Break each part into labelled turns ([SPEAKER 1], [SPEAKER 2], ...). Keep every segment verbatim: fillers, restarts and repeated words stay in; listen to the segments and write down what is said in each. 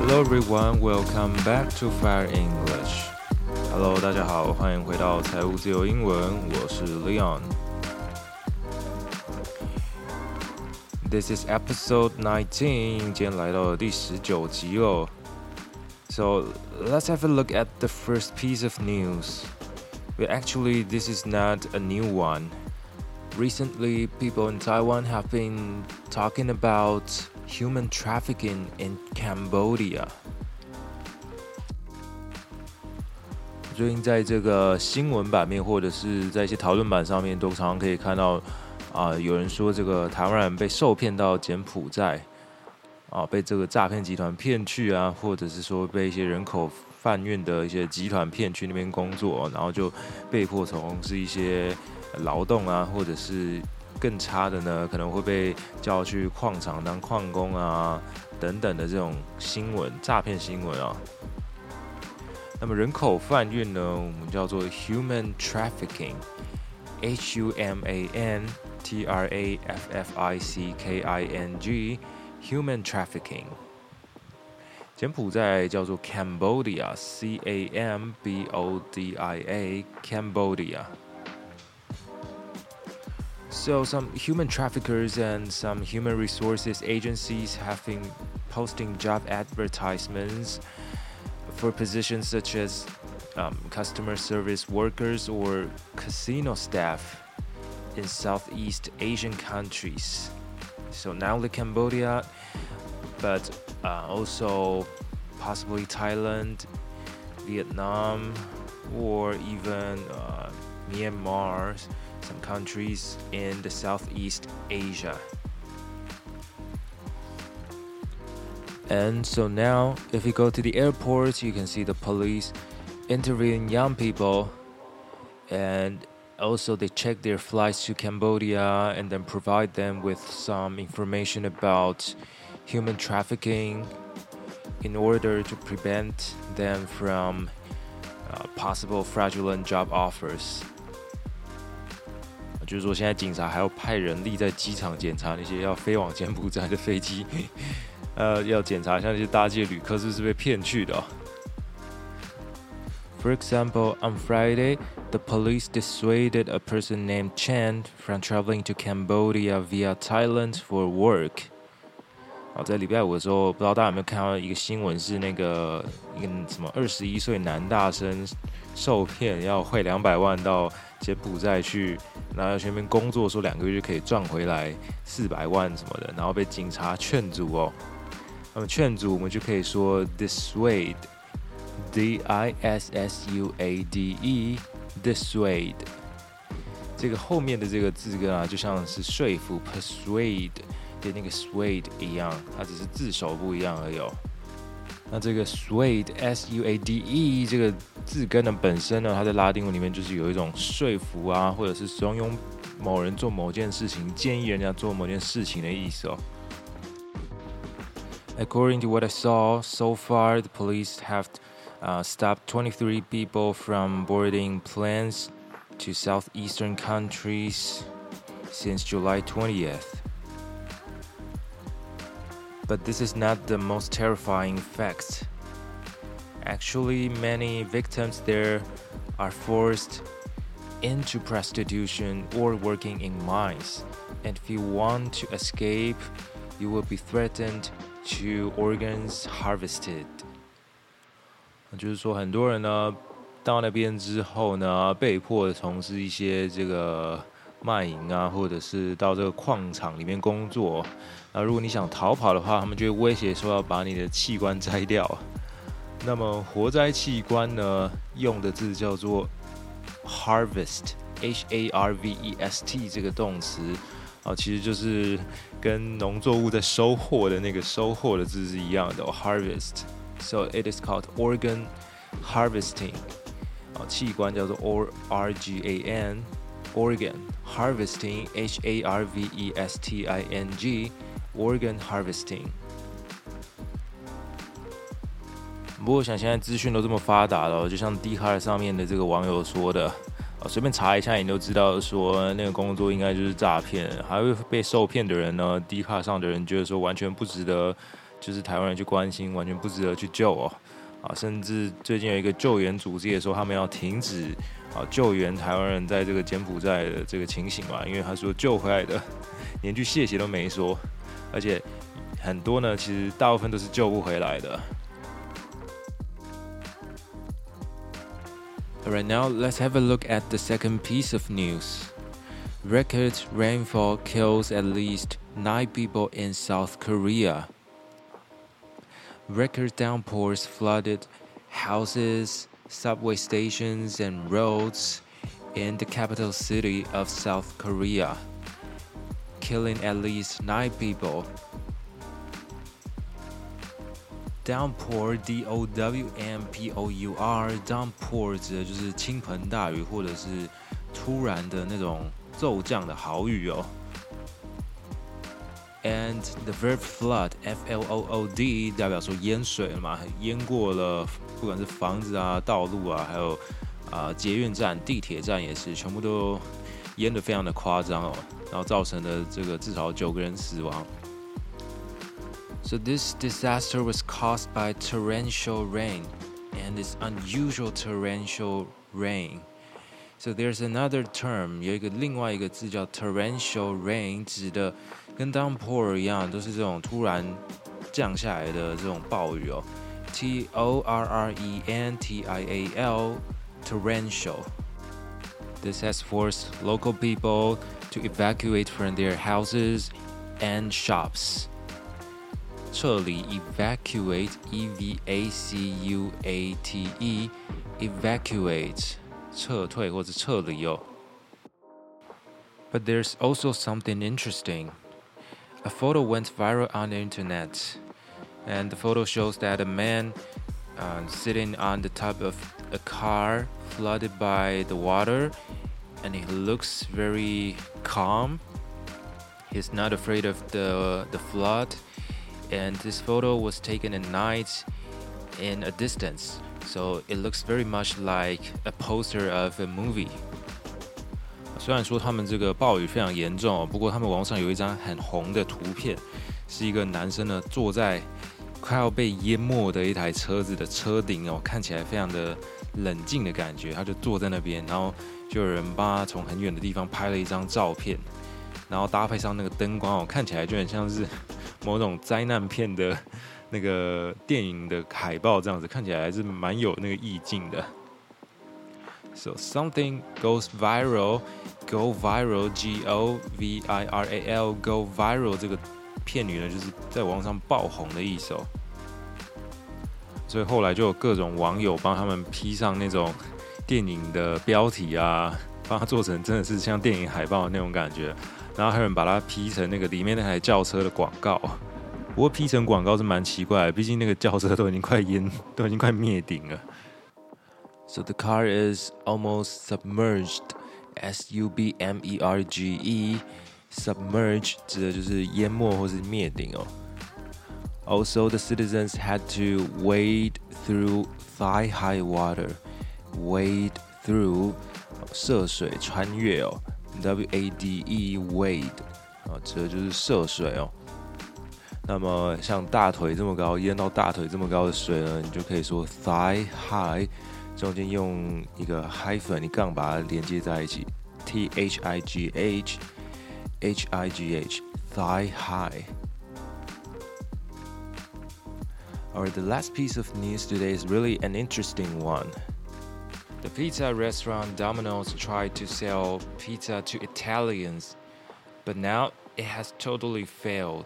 [SPEAKER 1] Hello everyone, welcome back to Fire English. Hello， 大家好，歡迎回到財務自由英文，我是 Leon。This is episode nineteen， 今天來到了第十九集哦。So let's have a look at the first piece of news. But actually, this is not a new one. Recently, people in Taiwan have been talking about human trafficking in Cambodia. 最近在這個新聞版面或者是在一些討論版上面，都常常可以看到啊、呃，有人說這個台灣人被受騙到柬埔寨啊，被這個詐騙集團騙去啊，或者是說被一些人口販運的一些集團騙去那邊工作，然後就被迫從事一些勞動啊，或者是更差的呢，可能會被叫去礦場當礦工啊，等等的這種新聞，詐騙新聞啊。那麼人口販運呢，我們叫做 human trafficking，H U M A N T R A F F I C K I N G，human trafficking。柬埔寨叫做 Cambodia，C A M B O D I A，Cambodia。So some human traffickers and some human resources agencies have been posting job advertisements for positions such as um, customer service workers or casino staff in Southeast Asian countries. So not only Cambodia, but uh, also possibly Thailand, Vietnam, or even uh, Myanmar, some countries in the Southeast Asia. And so now, if you go to the airports, you can see the police interviewing young people, and also they check their flights to Cambodia and then provide them with some information about human trafficking in order to prevent them from uh, possible fraudulent job offers. 就是說，現在警察還要派人力在機場檢查那些要飛往柬埔寨的飛機。呃，要檢查一下那些搭機的旅客是不是被騙去的哦。For example, on Friday, the police dissuaded a person named Chen from traveling to Cambodia via Thailand for work. 好，在禮拜五的時候，不知道大家有沒有看到一個新聞，是那個一個什麼二十一歲男大生受騙要匯兩百萬到柬埔寨去，然後去那邊工作，說兩個月就可以賺回來四百萬什麼的，然後被警察勸阻哦。那麼勸阻我們就可以說 dissuade，D I S S U A D E，dissuade。這個後面的這個字根啊，就像是說服 persuade 的那個 suade 一樣，它只是字首不一樣而已哦。那這個 suade S U A D E 這個字根呢，本身呢，它在拉丁文裡面就是有一種說服啊，或者是慫恿某人做某件事情，建議人家做某件事情的意思哦。According to what I saw, so far the police have uh, stopped twenty-three people from boarding planes to southeastern countries since July twentieth. But this is not the most terrifying fact. Actually, many victims there are forced into prostitution or working in mines. And if you want to escape, you will be threatened to organs harvested. 就是說，很多人呢到那邊之後呢，被迫從事一些這個賣淫啊，或者是到這個礦場裡面工作。那如果你想逃跑的話，他們就會威脅說要把你的器官摘掉。那麼活摘器官呢，用的字叫做 harvest，H A R V E S T 這個動詞。啊，其實就是跟農作物在收穫的那個收穫的字是一樣的、哦、，harvest。So it is called organ harvesting。啊，器官叫做 R G A N，organ harvesting H A R V E S T I N G，organ harvesting。不過我想現在資訊都這麼發達了，就像 Dcard 上面的這個網友說的。隨便查一下，你都知道說那個工作應該就是詐騙，還會被受騙的人呢，Dcard上的人覺得說完全不值得就是台灣人去關心，完全不值得去救哦。啊，甚至最近有一個救援組織也說，他們要停止啊救援台灣人在這個柬埔寨的這個情形嘛，因為他說救回來的連句謝謝都沒說，而且很多呢，其實大部分都是救不回來的。Alright, now let's have a look at the second piece of news. Record rainfall kills at least nine people in South Korea. Record downpours flooded houses, subway stations, and roads in the capital city of South Korea, killing at least nine people. Downpour, D O W N P O U R, downpour 指的就是倾盆大雨或者是突然的那種骤降的豪雨哦。And the verb flood, F L O O D 代表說淹水了嘛，淹過了不管是房子啊、道路啊，還有啊、呃、捷運站、地鐵站也是，全部都淹得非常的誇張哦，然後造成了這個至少九個人死亡。So this disaster was caused by torrential rain, and it's unusual torrential rain. So there's another term, 有一個另外一個字叫 torrential rain， 指的跟 downpour 一樣，都是這種突然降下來的這種暴雨哦。T O R R E N T I A L, torrential. This has forced local people to evacuate from their houses and shops. 撤離 evacuate, E V A C U A T E, evacuate. 撤退或者撤離哦。But there's also something interesting. A photo went viral on the internet, and the photo shows that a man uh, sitting on the top of a car flooded by the water, and he looks very calm. He's not afraid of the, the flood, and this photo was taken at night in a distance.So it looks very much like a poster of a movie. 虽然說他們這個暴雨非常嚴重哦，不過他們網上有一張很紅的圖片，是一個男生呢坐在快要被淹沒的一台車子的車頂哦，看起來非常的冷靜的感覺。他就坐在那邊，然後就有人幫他從很遠的地方拍了一張照片，然後搭配上那個燈光哦，看起來就很像是某種災難片的那個電影的海報這樣子，看起來還是蠻有那個意境的。So something goes viral, go viral, G O V I R A L, go viral 這個片語呢，就是在網上爆紅的意思哦。所以後來就有各種網友幫他們 P 上那種電影的標題啊，幫他做成真的是像電影海報的那種感覺，然後還有人把它 P 成那個裡面那台轎車的廣告。不過 P 成廣告是蠻奇怪的，畢竟那個轎車都已經快淹，都已經快滅頂了。So the car is almost submerged, S U B M E R G E, submerge 指的就是淹沒或是滅頂哦。Also, the citizens had to wade through thigh-high water, wade through 涉水穿越哦 ，W A D E wade 啊，指的就是涉水哦。那麼像大腿這麼高，淹到大腿這麼高的水呢，你就可以說 thigh high， 中間用一個 hyphen， 你槓把它連接在一起 ，T H I G H H I G H thigh high. Alright, the last piece of news today is really an interesting one. The pizza restaurant Domino's tried to sell pizza to Italians, but now it has totally failed.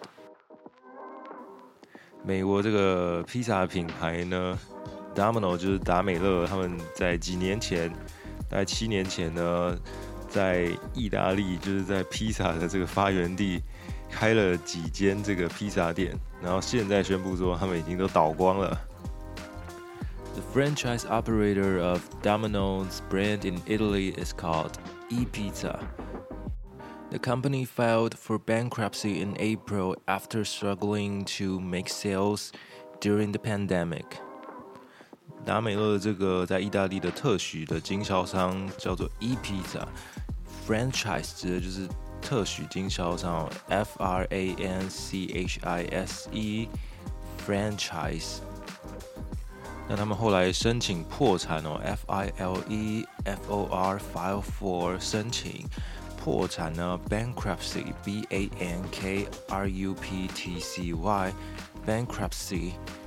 [SPEAKER 1] 美國這個披薩品牌呢 ，Domino 就是達美樂，他們在幾年前，大概七年前呢，在意大利就是在披薩的這個發源地開了幾間這個披薩店，然後現在宣布說他們已經都倒光了。The franchise operator of Domino's brand in Italy is called ePizza.The company filed for bankruptcy in April after struggling to make sales during the pandemic. 達美樂這個在意大利的特許的經銷商叫做 ePizza， franchise 指的就是特許經銷商 F R A N C H I S E franchise。那他們後來申請破產哦 ，F I L E F O R file for 申請破產呢 ，bankruptcy B A N K R U P T C Y bankruptcy。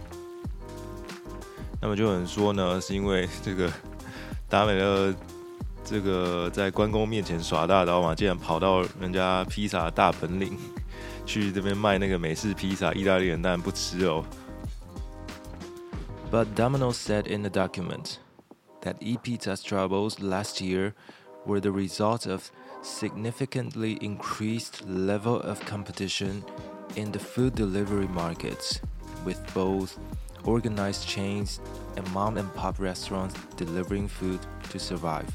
[SPEAKER 1] 那麼就有人說呢，是因為這個達美樂這個在關公面前耍大刀嘛，竟然跑到人家披薩大本領去這邊賣那個美式披薩，意大利人當然不吃哦。But Domino's said in the document that ePizza's troubles last year were the result of significantly increased level of competition in the food delivery markets, with both organized chains and mom-and-pop restaurants delivering food to survive.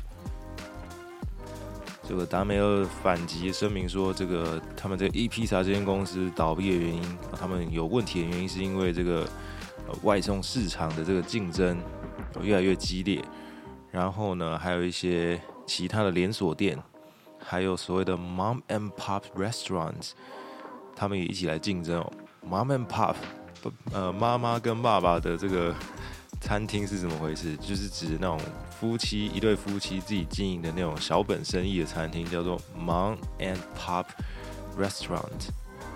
[SPEAKER 1] 這個達美樂反擊聲明說，這個他們這個 ePizza 這間公司倒閉的原因，他們有問題的原因是因為這個外送市場的這個競爭越來越激烈，然後呢，還有一些其他的連鎖店，還有所謂的 mom and pop restaurants， 他們也一起來競爭哦。mom and pop， 呃，媽媽跟爸爸的這個餐廳是怎麼回事？就是指那種夫妻一對夫妻自己經營的那種小本生意的餐廳，叫做 mom and pop restaurant。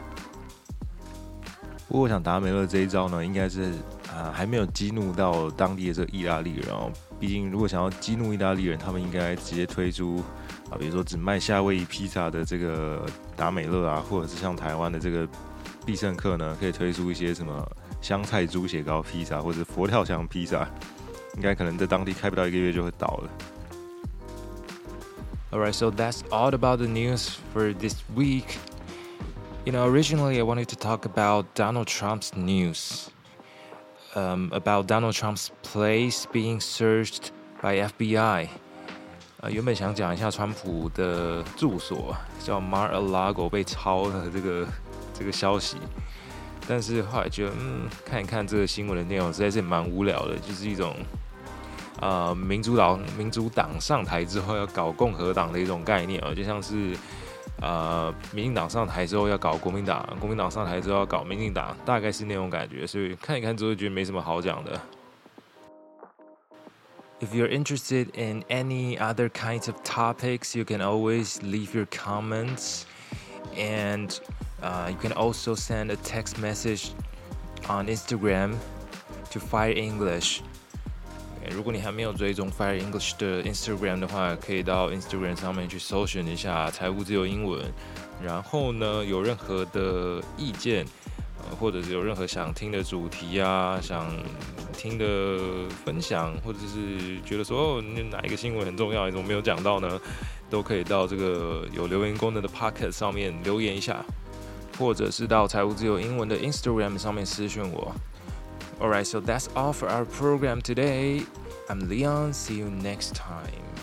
[SPEAKER 1] 不過我想達美樂這一招呢，應該是啊、呃、還沒有激怒到當地的這個意大利人哦。畢竟如果想要激怒意大利人，他們應該直接推出啊，比如說只賣夏威夷披薩的這個達美樂啊，或者是像台灣的這個必勝客呢，可以推出一些什麼香菜豬血糕披薩或者佛跳牆披薩，應該可能在當地開不到一個月就會倒了。
[SPEAKER 2] Alright, so that's all about the news for this week. You know, originally I wanted to talk about Donald Trump's news, um, about Donald Trump's place being searched by F B I. 呃，原本想講一下川普的住所叫 Mar-a-Lago 被抄的這個這個消息，但是後來覺得，嗯，看一看這個新聞的內容，實在是蠻無聊的，就是一種呃民主黨民主黨上台之後要搞共和黨的一種概念哦，就像是。呃，民進黨上台之後要搞國民黨，國民黨上台之後要搞民進黨，大概是那種感覺，所以看一看之後覺得沒什麼好講的。If you're interested in any other kinds of topics, you can always leave your comments, and uh, you can also send a text message on Instagram to Fire English. 如果你還沒有追蹤 Fire English 的 Instagram 的話，可以到 Instagram 上面去搜尋一下財務自由英文。然後呢，有任何的意見，呃，或者是有任何想聽的主題啊，想聽的分享，或者是覺得說哦，哪一個新聞很重要，你怎麼沒有講到呢？都可以到這個有留言功能的 Podcast 上面留言一下，或者是到財務自由英文的 Instagram 上面私訊我。Alright, so that's all for our program today. I'm Leon. See you next time.